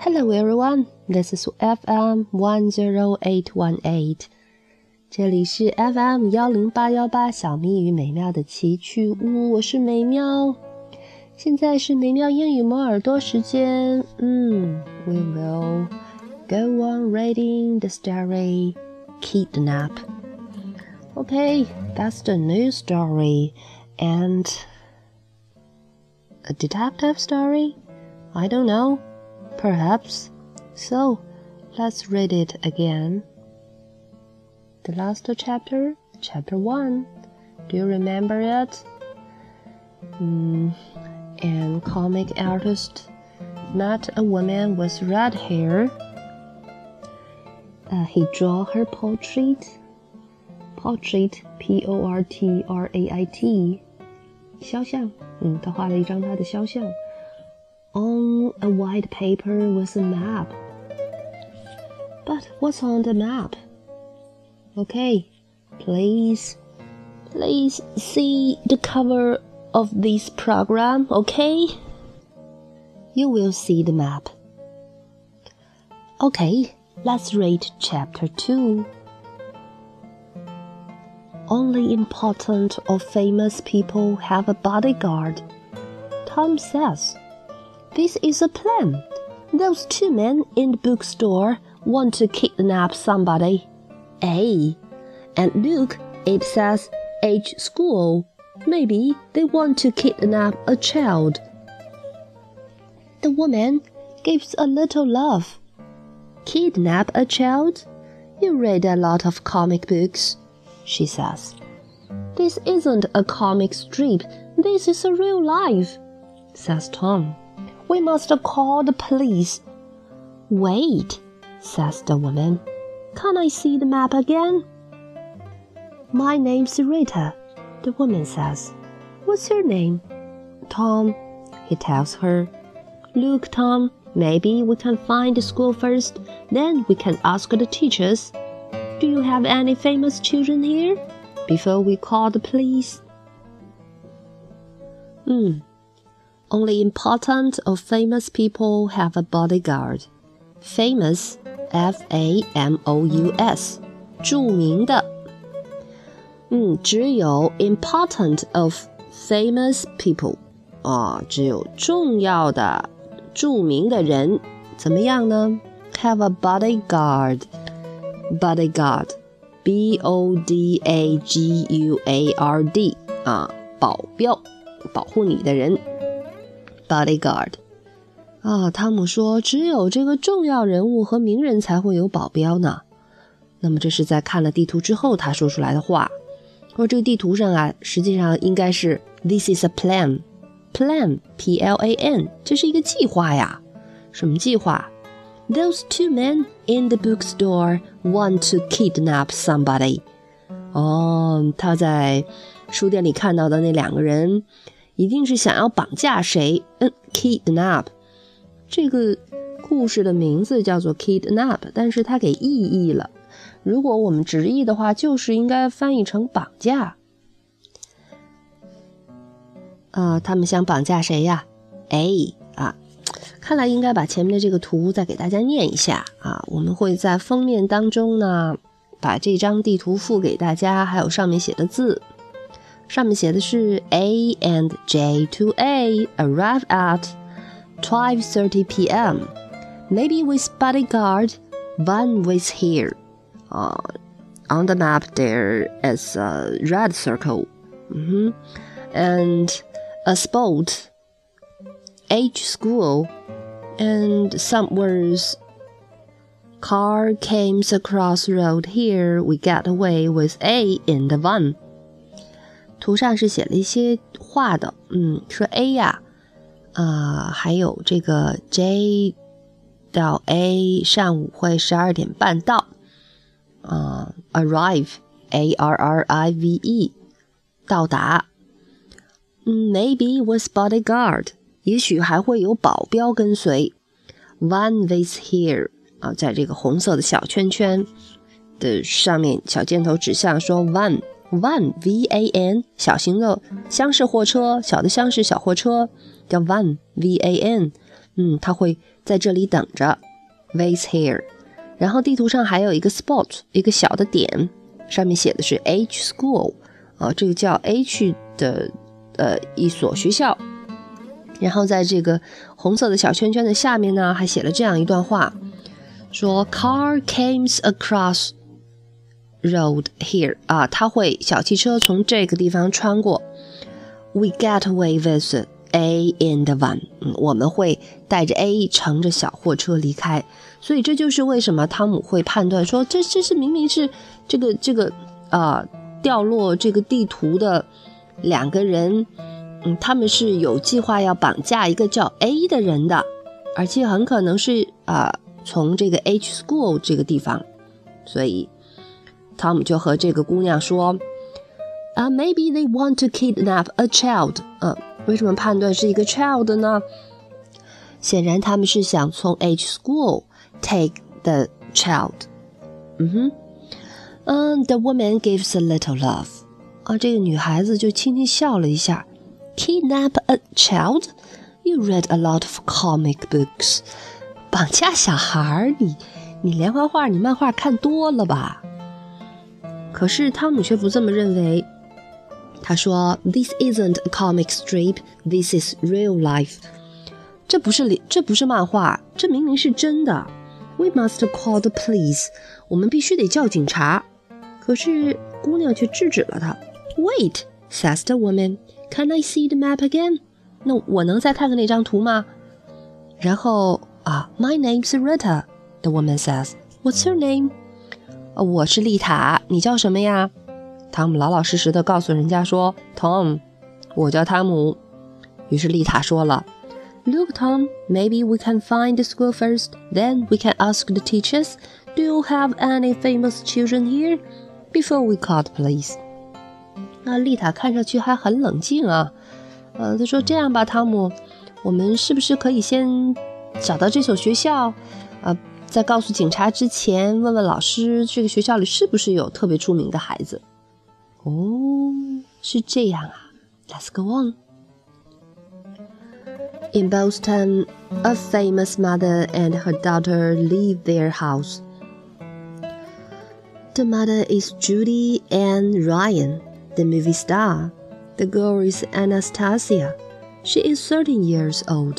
Hello everyone, this is FM 10818. 这里是 FM 10818小咪与美妙的奇趣屋，我是美妙。现在是美妙英语磨耳朵时间。We will go on reading the story Kidnap. Okay, that's the new story. And a detective story? I don't know. Perhaps. So, let's read it again. The last chapter, chapter 1. Do you remember it? An comic artist met a woman with red hair. He drew her portrait. Portrait, P-O-R-T-R-A-I-T. 肖像，他画了一张他的肖像。On a white paper was a map. But what's on the map? Okay, please see the cover of this program, okay? You will see the map. Okay, let's read chapter 2. Only important or famous people have a bodyguard. Tom says.This is a plan. Those two men in the bookstore want to kidnap somebody. A. And look, it says H school. Maybe they want to kidnap a child. The woman gives a little laugh. Kidnap a child? You read a lot of comic books, she says. This isn't a comic strip. This is a real life, says Tom.We must call the police. Wait, says the woman. Can I see the map again? My name's Rita, the woman says. What's your name? Tom, he tells her. Look, Tom, maybe we can find the school first, then we can ask the teachers. Do you have any famous children here? Before we call the police.Only important or famous people have a bodyguard. Famous, F-A-M-O-U-S, 著名的。只有 important of famous people. 只有重要的、著名的人。怎么样呢？ Have a bodyguard. Bodyguard, B-O-D-A-G-U-A-R-D. 保镖，保护你的人。Bodyguard. 汤姆说只有这个重要人物和名人才会有保镖呢。那么这是在看了地图之后他说出来的话。而这个地图上实际上应该是 This is a plan. Plan, P-L-A-N. 这是一个计划呀。什么计划？ Those two men in the bookstore want to kidnap somebody. 他在书店里看到的那两个人一定是想要绑架谁？Kidnap 这个故事的名字叫做 Kidnap， 但是它给意译了。如果我们直译的话，就是应该翻译成绑架。他们想绑架谁呀？看来应该把前面的这个图再给大家念一下我们会在封面当中呢，把这张地图附给大家，还有上面写的字。上面写的是 A and J2A arrive at 12:30 p.m. Maybe with bodyguard, one with here. On the map there is a red circle. And a spot, H school, and some words. Car came across road here. We get away with A in the van.图上是写了一些话的，说 A 还有这个 J 到 A 上午会12点半到arrive, A-R-R-I-V-E 到达maybe with bodyguard 也许还会有保镖跟随 one with here 在这个红色的小圈圈的上面小箭头指向说 one V-A-N 小型的厢式货车，小的厢式小货车叫 van V-A-N 他会在这里等着 waits here。 然后地图上还有一个 spot， 一个小的点，上面写的是 H School， 这个叫 H 的一所学校。然后在这个红色的小圈圈的下面呢，还写了这样一段话，说 Car comes across road here， 小汽车从这个地方穿过。 We get away with A in the van， 我们会带着 A 乘着小货车离开。所以这就是为什么汤姆会判断说这是明明是这个掉落这个地图的两个人，他们是有计划要绑架一个叫 A 的人的，而且很可能是从这个 H School 这个地方。所以汤姆就和这个姑娘说Maybe they want to kidnap a child。 为什么判断是一个 child 呢？显然他们是想从 H School take the child。 The woman gives a little laugh。 这个女孩子就轻轻笑了一下。 Kidnap a child? You read a lot of comic books。 绑架小孩，你连环画你漫画看多了吧？可是汤姆却不这么认为。他说 This isn't a comic strip, this is real life。 这不是漫画，这明明是真的。 We must call the police， 我们必须得叫警察。可是姑娘却制止了他。 Wait, says the woman, can I see the map again？ 那我能再看看那张图吗？然后My name's Rita, the woman says. What's your name？ 我是丽塔，你叫什么呀？汤姆老老实实地告诉人家说 Tom， 我叫汤姆。于是丽塔说了 Look Tom, maybe we can find the school first, then we can ask the teachers, do you have any famous children here? Before we call the police。 那丽塔看上去还很冷静她说这样吧汤姆，我们是不是可以先找到这所学校，在告诉警察之前问问老师这个学校里是不是有特别出名的孩子。是这样Let's go on. In Boston, a famous mother and her daughter leave their house. The mother is Judy Ann Ryan, the movie star. The girl is Anastasia. She is 13 years old.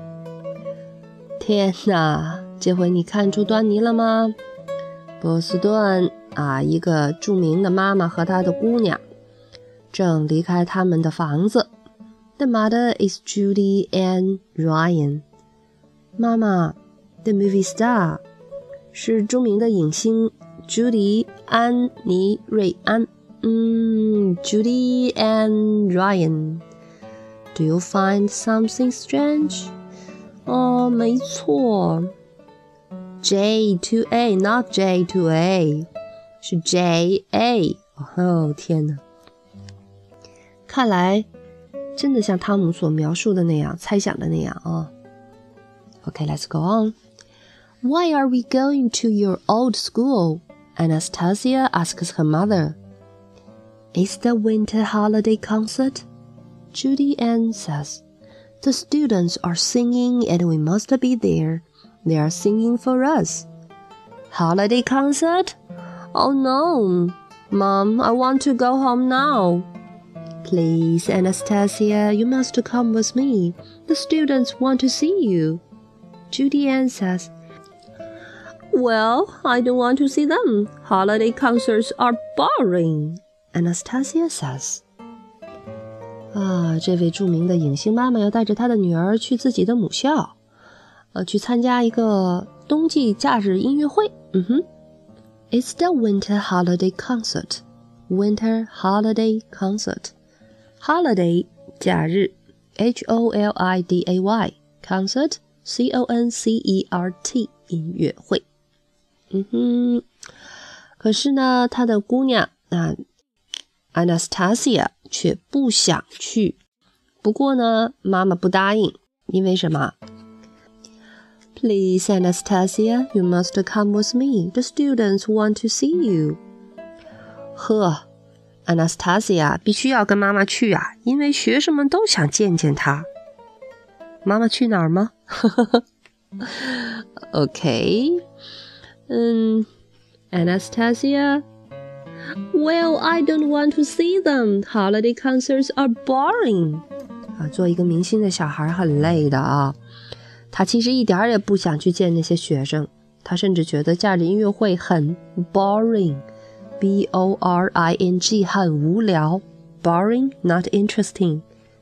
天哪，这回你看出端倪了吗？波士顿一个著名的妈妈和她的姑娘正离开他们的房子。 The mother is Judy Ann Ryan。 妈妈 The movie star 是著名的影星 Judy 安妮瑞安。Judy Ann Ryan。 Do you find something strange？ 没错。J to A, not J to A， 是 J-A。 天哪，看来真的像汤姆所描述的那样，猜想的那样Okay, let's go on. Why are we going to your old school? Anastasia asks her mother. It's the winter holiday concert, Judy Ann says. The students are singing and we must be there. They are singing for us. Holiday concert? Oh no, Mom, I want to go home now. Please, Anastasia, you must come with me. The students want to see you. Judy Ann says, Well, I don't want to see them. Holiday concerts are boring, Anastasia says. 这位著名的影星妈妈要带着她的女儿去自己的母校，去参加一个冬季假日音乐会。It's the winter holiday concert. Winter holiday concert. Holiday 假日 Holiday Concert Concert 音乐会。可是呢，他的姑娘Anastasia 却不想去。不过呢，妈妈不答应，因为什么？ Please, Anastasia, you must come with me. The students want to see you. Anastasia 必须要跟妈妈去因为学生们都想见见她。 妈妈去哪儿吗？Okay. Anastasia? Well, I don't want to see them. Holiday concerts are boring. 做一个明星的小孩很累的啊。他其实一点也不想去见那些学生，他甚至觉得假日音乐会很 boring. B-O-R-I-N-G 很无聊。Boring, not interesting.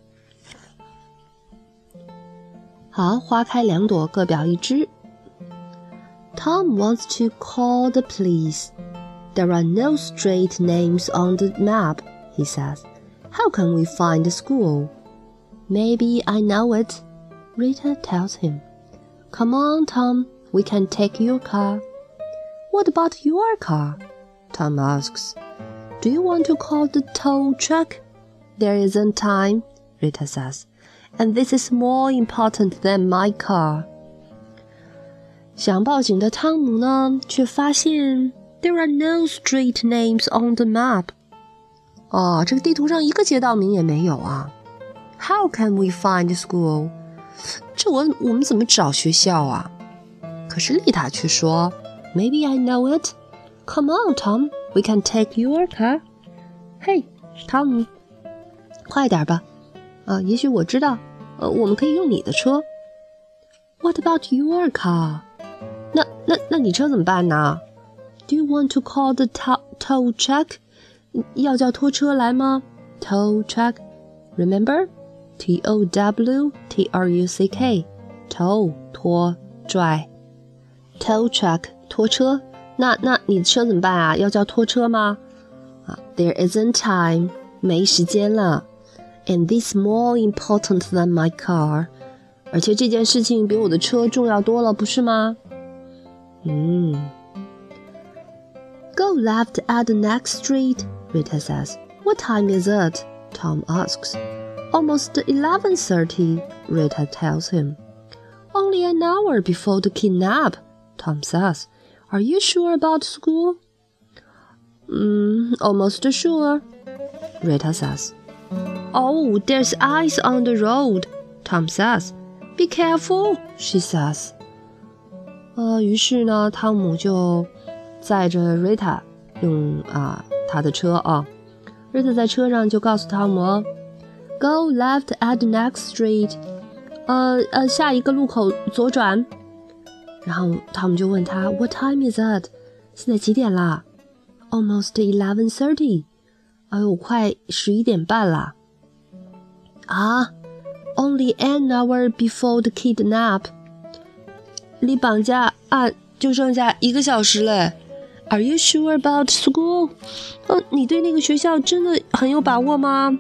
好，花开两朵，各表一枝。Tom wants to call the police. There are no street names on the map, he says. How can we find the school? Maybe I know it, Rita tells him. Come on, Tom, we can take your car. What about your car? Tom asks. Do you want to call the tow truck? There isn't time, Rita says. And this is more important than my car. 想报警的汤姆呢，却发现 There are no street names on the map. 这个地图上一个街道名也没有啊。How can we find the school? 这我们怎么找学校啊？可是丽塔却说 Maybe I know it. Come on, Tom, we can take your car. 嘿，汤姆，快点吧。也许我知道，我们可以用你的车。What about your car? 那你车怎么办呢？ Do you want to call the tow truck? 要叫拖车来吗？ Tow truck. Remember? T-O-W-T-R-U-C-K. Tow, 拖，拽。Tow truck, 拖车。那你的车怎么办啊？要叫拖车吗？There isn't time. 没时间了。And this more important than my car. 而且这件事情比我的车重要多了，不是吗？Go left at the next street, Rita says. What time is it? Tom asks. Almost 11:30, Rita tells him. Only an hour before the kidnap, Tom says. Are you sure about school? Almost sure, Rita says. Oh, there's ice on the road, Tom says. Be careful, she says. 于是呢，汤姆就载着 Rita 用他的车啊。Rita 在车上就告诉汤姆 Go left at the next street. 下一个路口左转。然后汤姆就问他 What time is it? 现在几点啦？ Almost 11:30. 哎呦，快11点半啦。Only an hour before the kidnap. 离绑架案就剩下1个小时嘞。Are you sure about school? 你对那个学校真的很有把握吗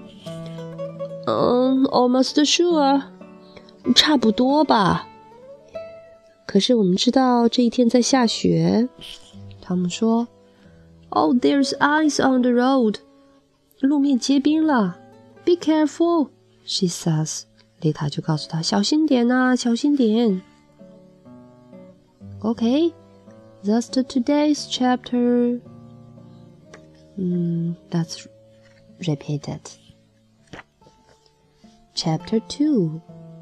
？Almost sure. 差不多吧。可是我们知道这一天在下雪。汤姆说 Oh, there's ice on the road. 路面结冰了。Be careful, she says. 丽塔就告诉他小心点啊，小心点。Okay, that's today's chapter. Let's repeat it. Chapter 2.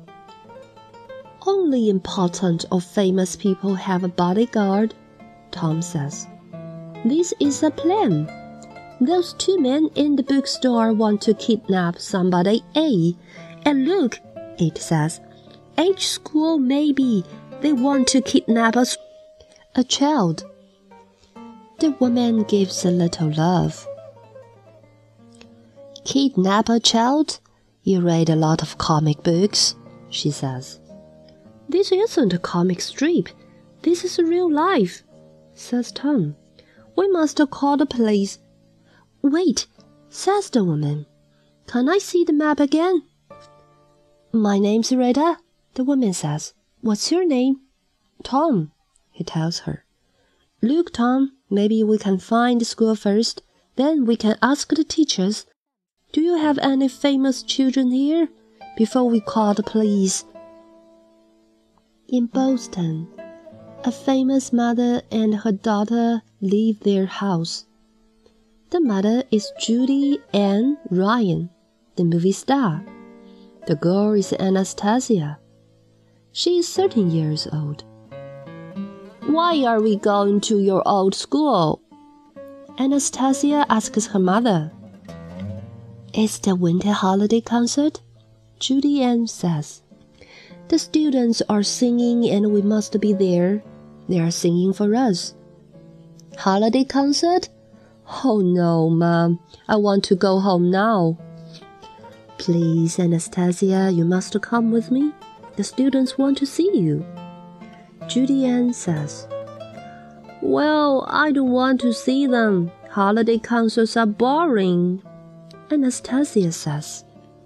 Only important or famous people have a bodyguard, Tom says. This is a plan. Those two men in the bookstore want to kidnap somebody A. And look, it says, H school maybe. They want to kidnap a child. The woman gives a little laugh. Kidnap a child? You read a lot of comic books, she says. This isn't a comic strip. This is real life, says Tom. We must call the police. Wait, says the woman. Can I see the map again? My name's Rita, the woman says. What's your name? Tom, he tells her. Look, Tom, maybe we can find the school first. Then we can ask the teachers. Do you have any famous children here? Before we call the police. In Boston, a famous mother and her daughter leave their house. The mother is Judy Ann Ryan, the movie star. The girl is Anastasia, She is 13 years old. Why are we going to your old school? Anastasia asks her mother. It's the winter holiday concert, Judy Ann says. The students are singing and we must be there. They are singing for us. Holiday concert? Oh no, Mom. I want to go home now. Please, Anastasia, you must come with me. The students want to see you. Judy Ann says. Well, I don't want to see them. Holiday concerts are boring. Anastasia says.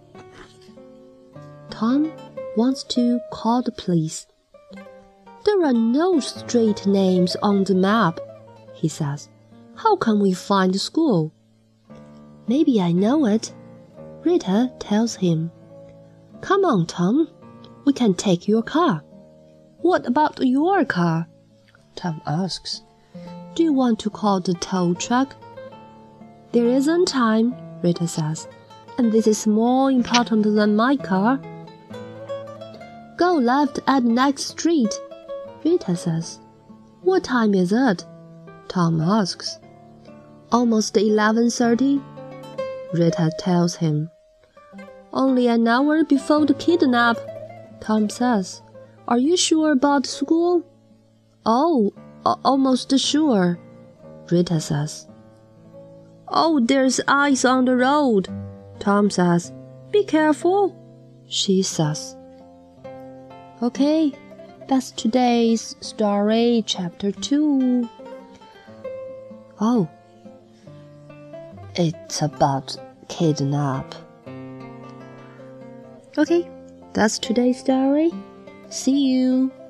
Tom wants to call the police. There are no street names on the map, he says. How can we find the school? Maybe I know it, Rita tells him. Come on, Tom. We can take your car. What about your car? Tom asks. Do you want to call the tow truck? There isn't time, Rita says, and this is more important than my car. Go left at the next street, Rita says. What time is it? Tom asks. Almost 11:30, Rita tells him. Only an hour before the kidnap, Tom says. Are you sure about school? Oh, almost sure, Rita says. Oh, there's ice on the road, Tom says. Be careful, she says. Okay, that's today's story, chapter 2. Oh, it's about kidnap. Okay, that's today's story. See you.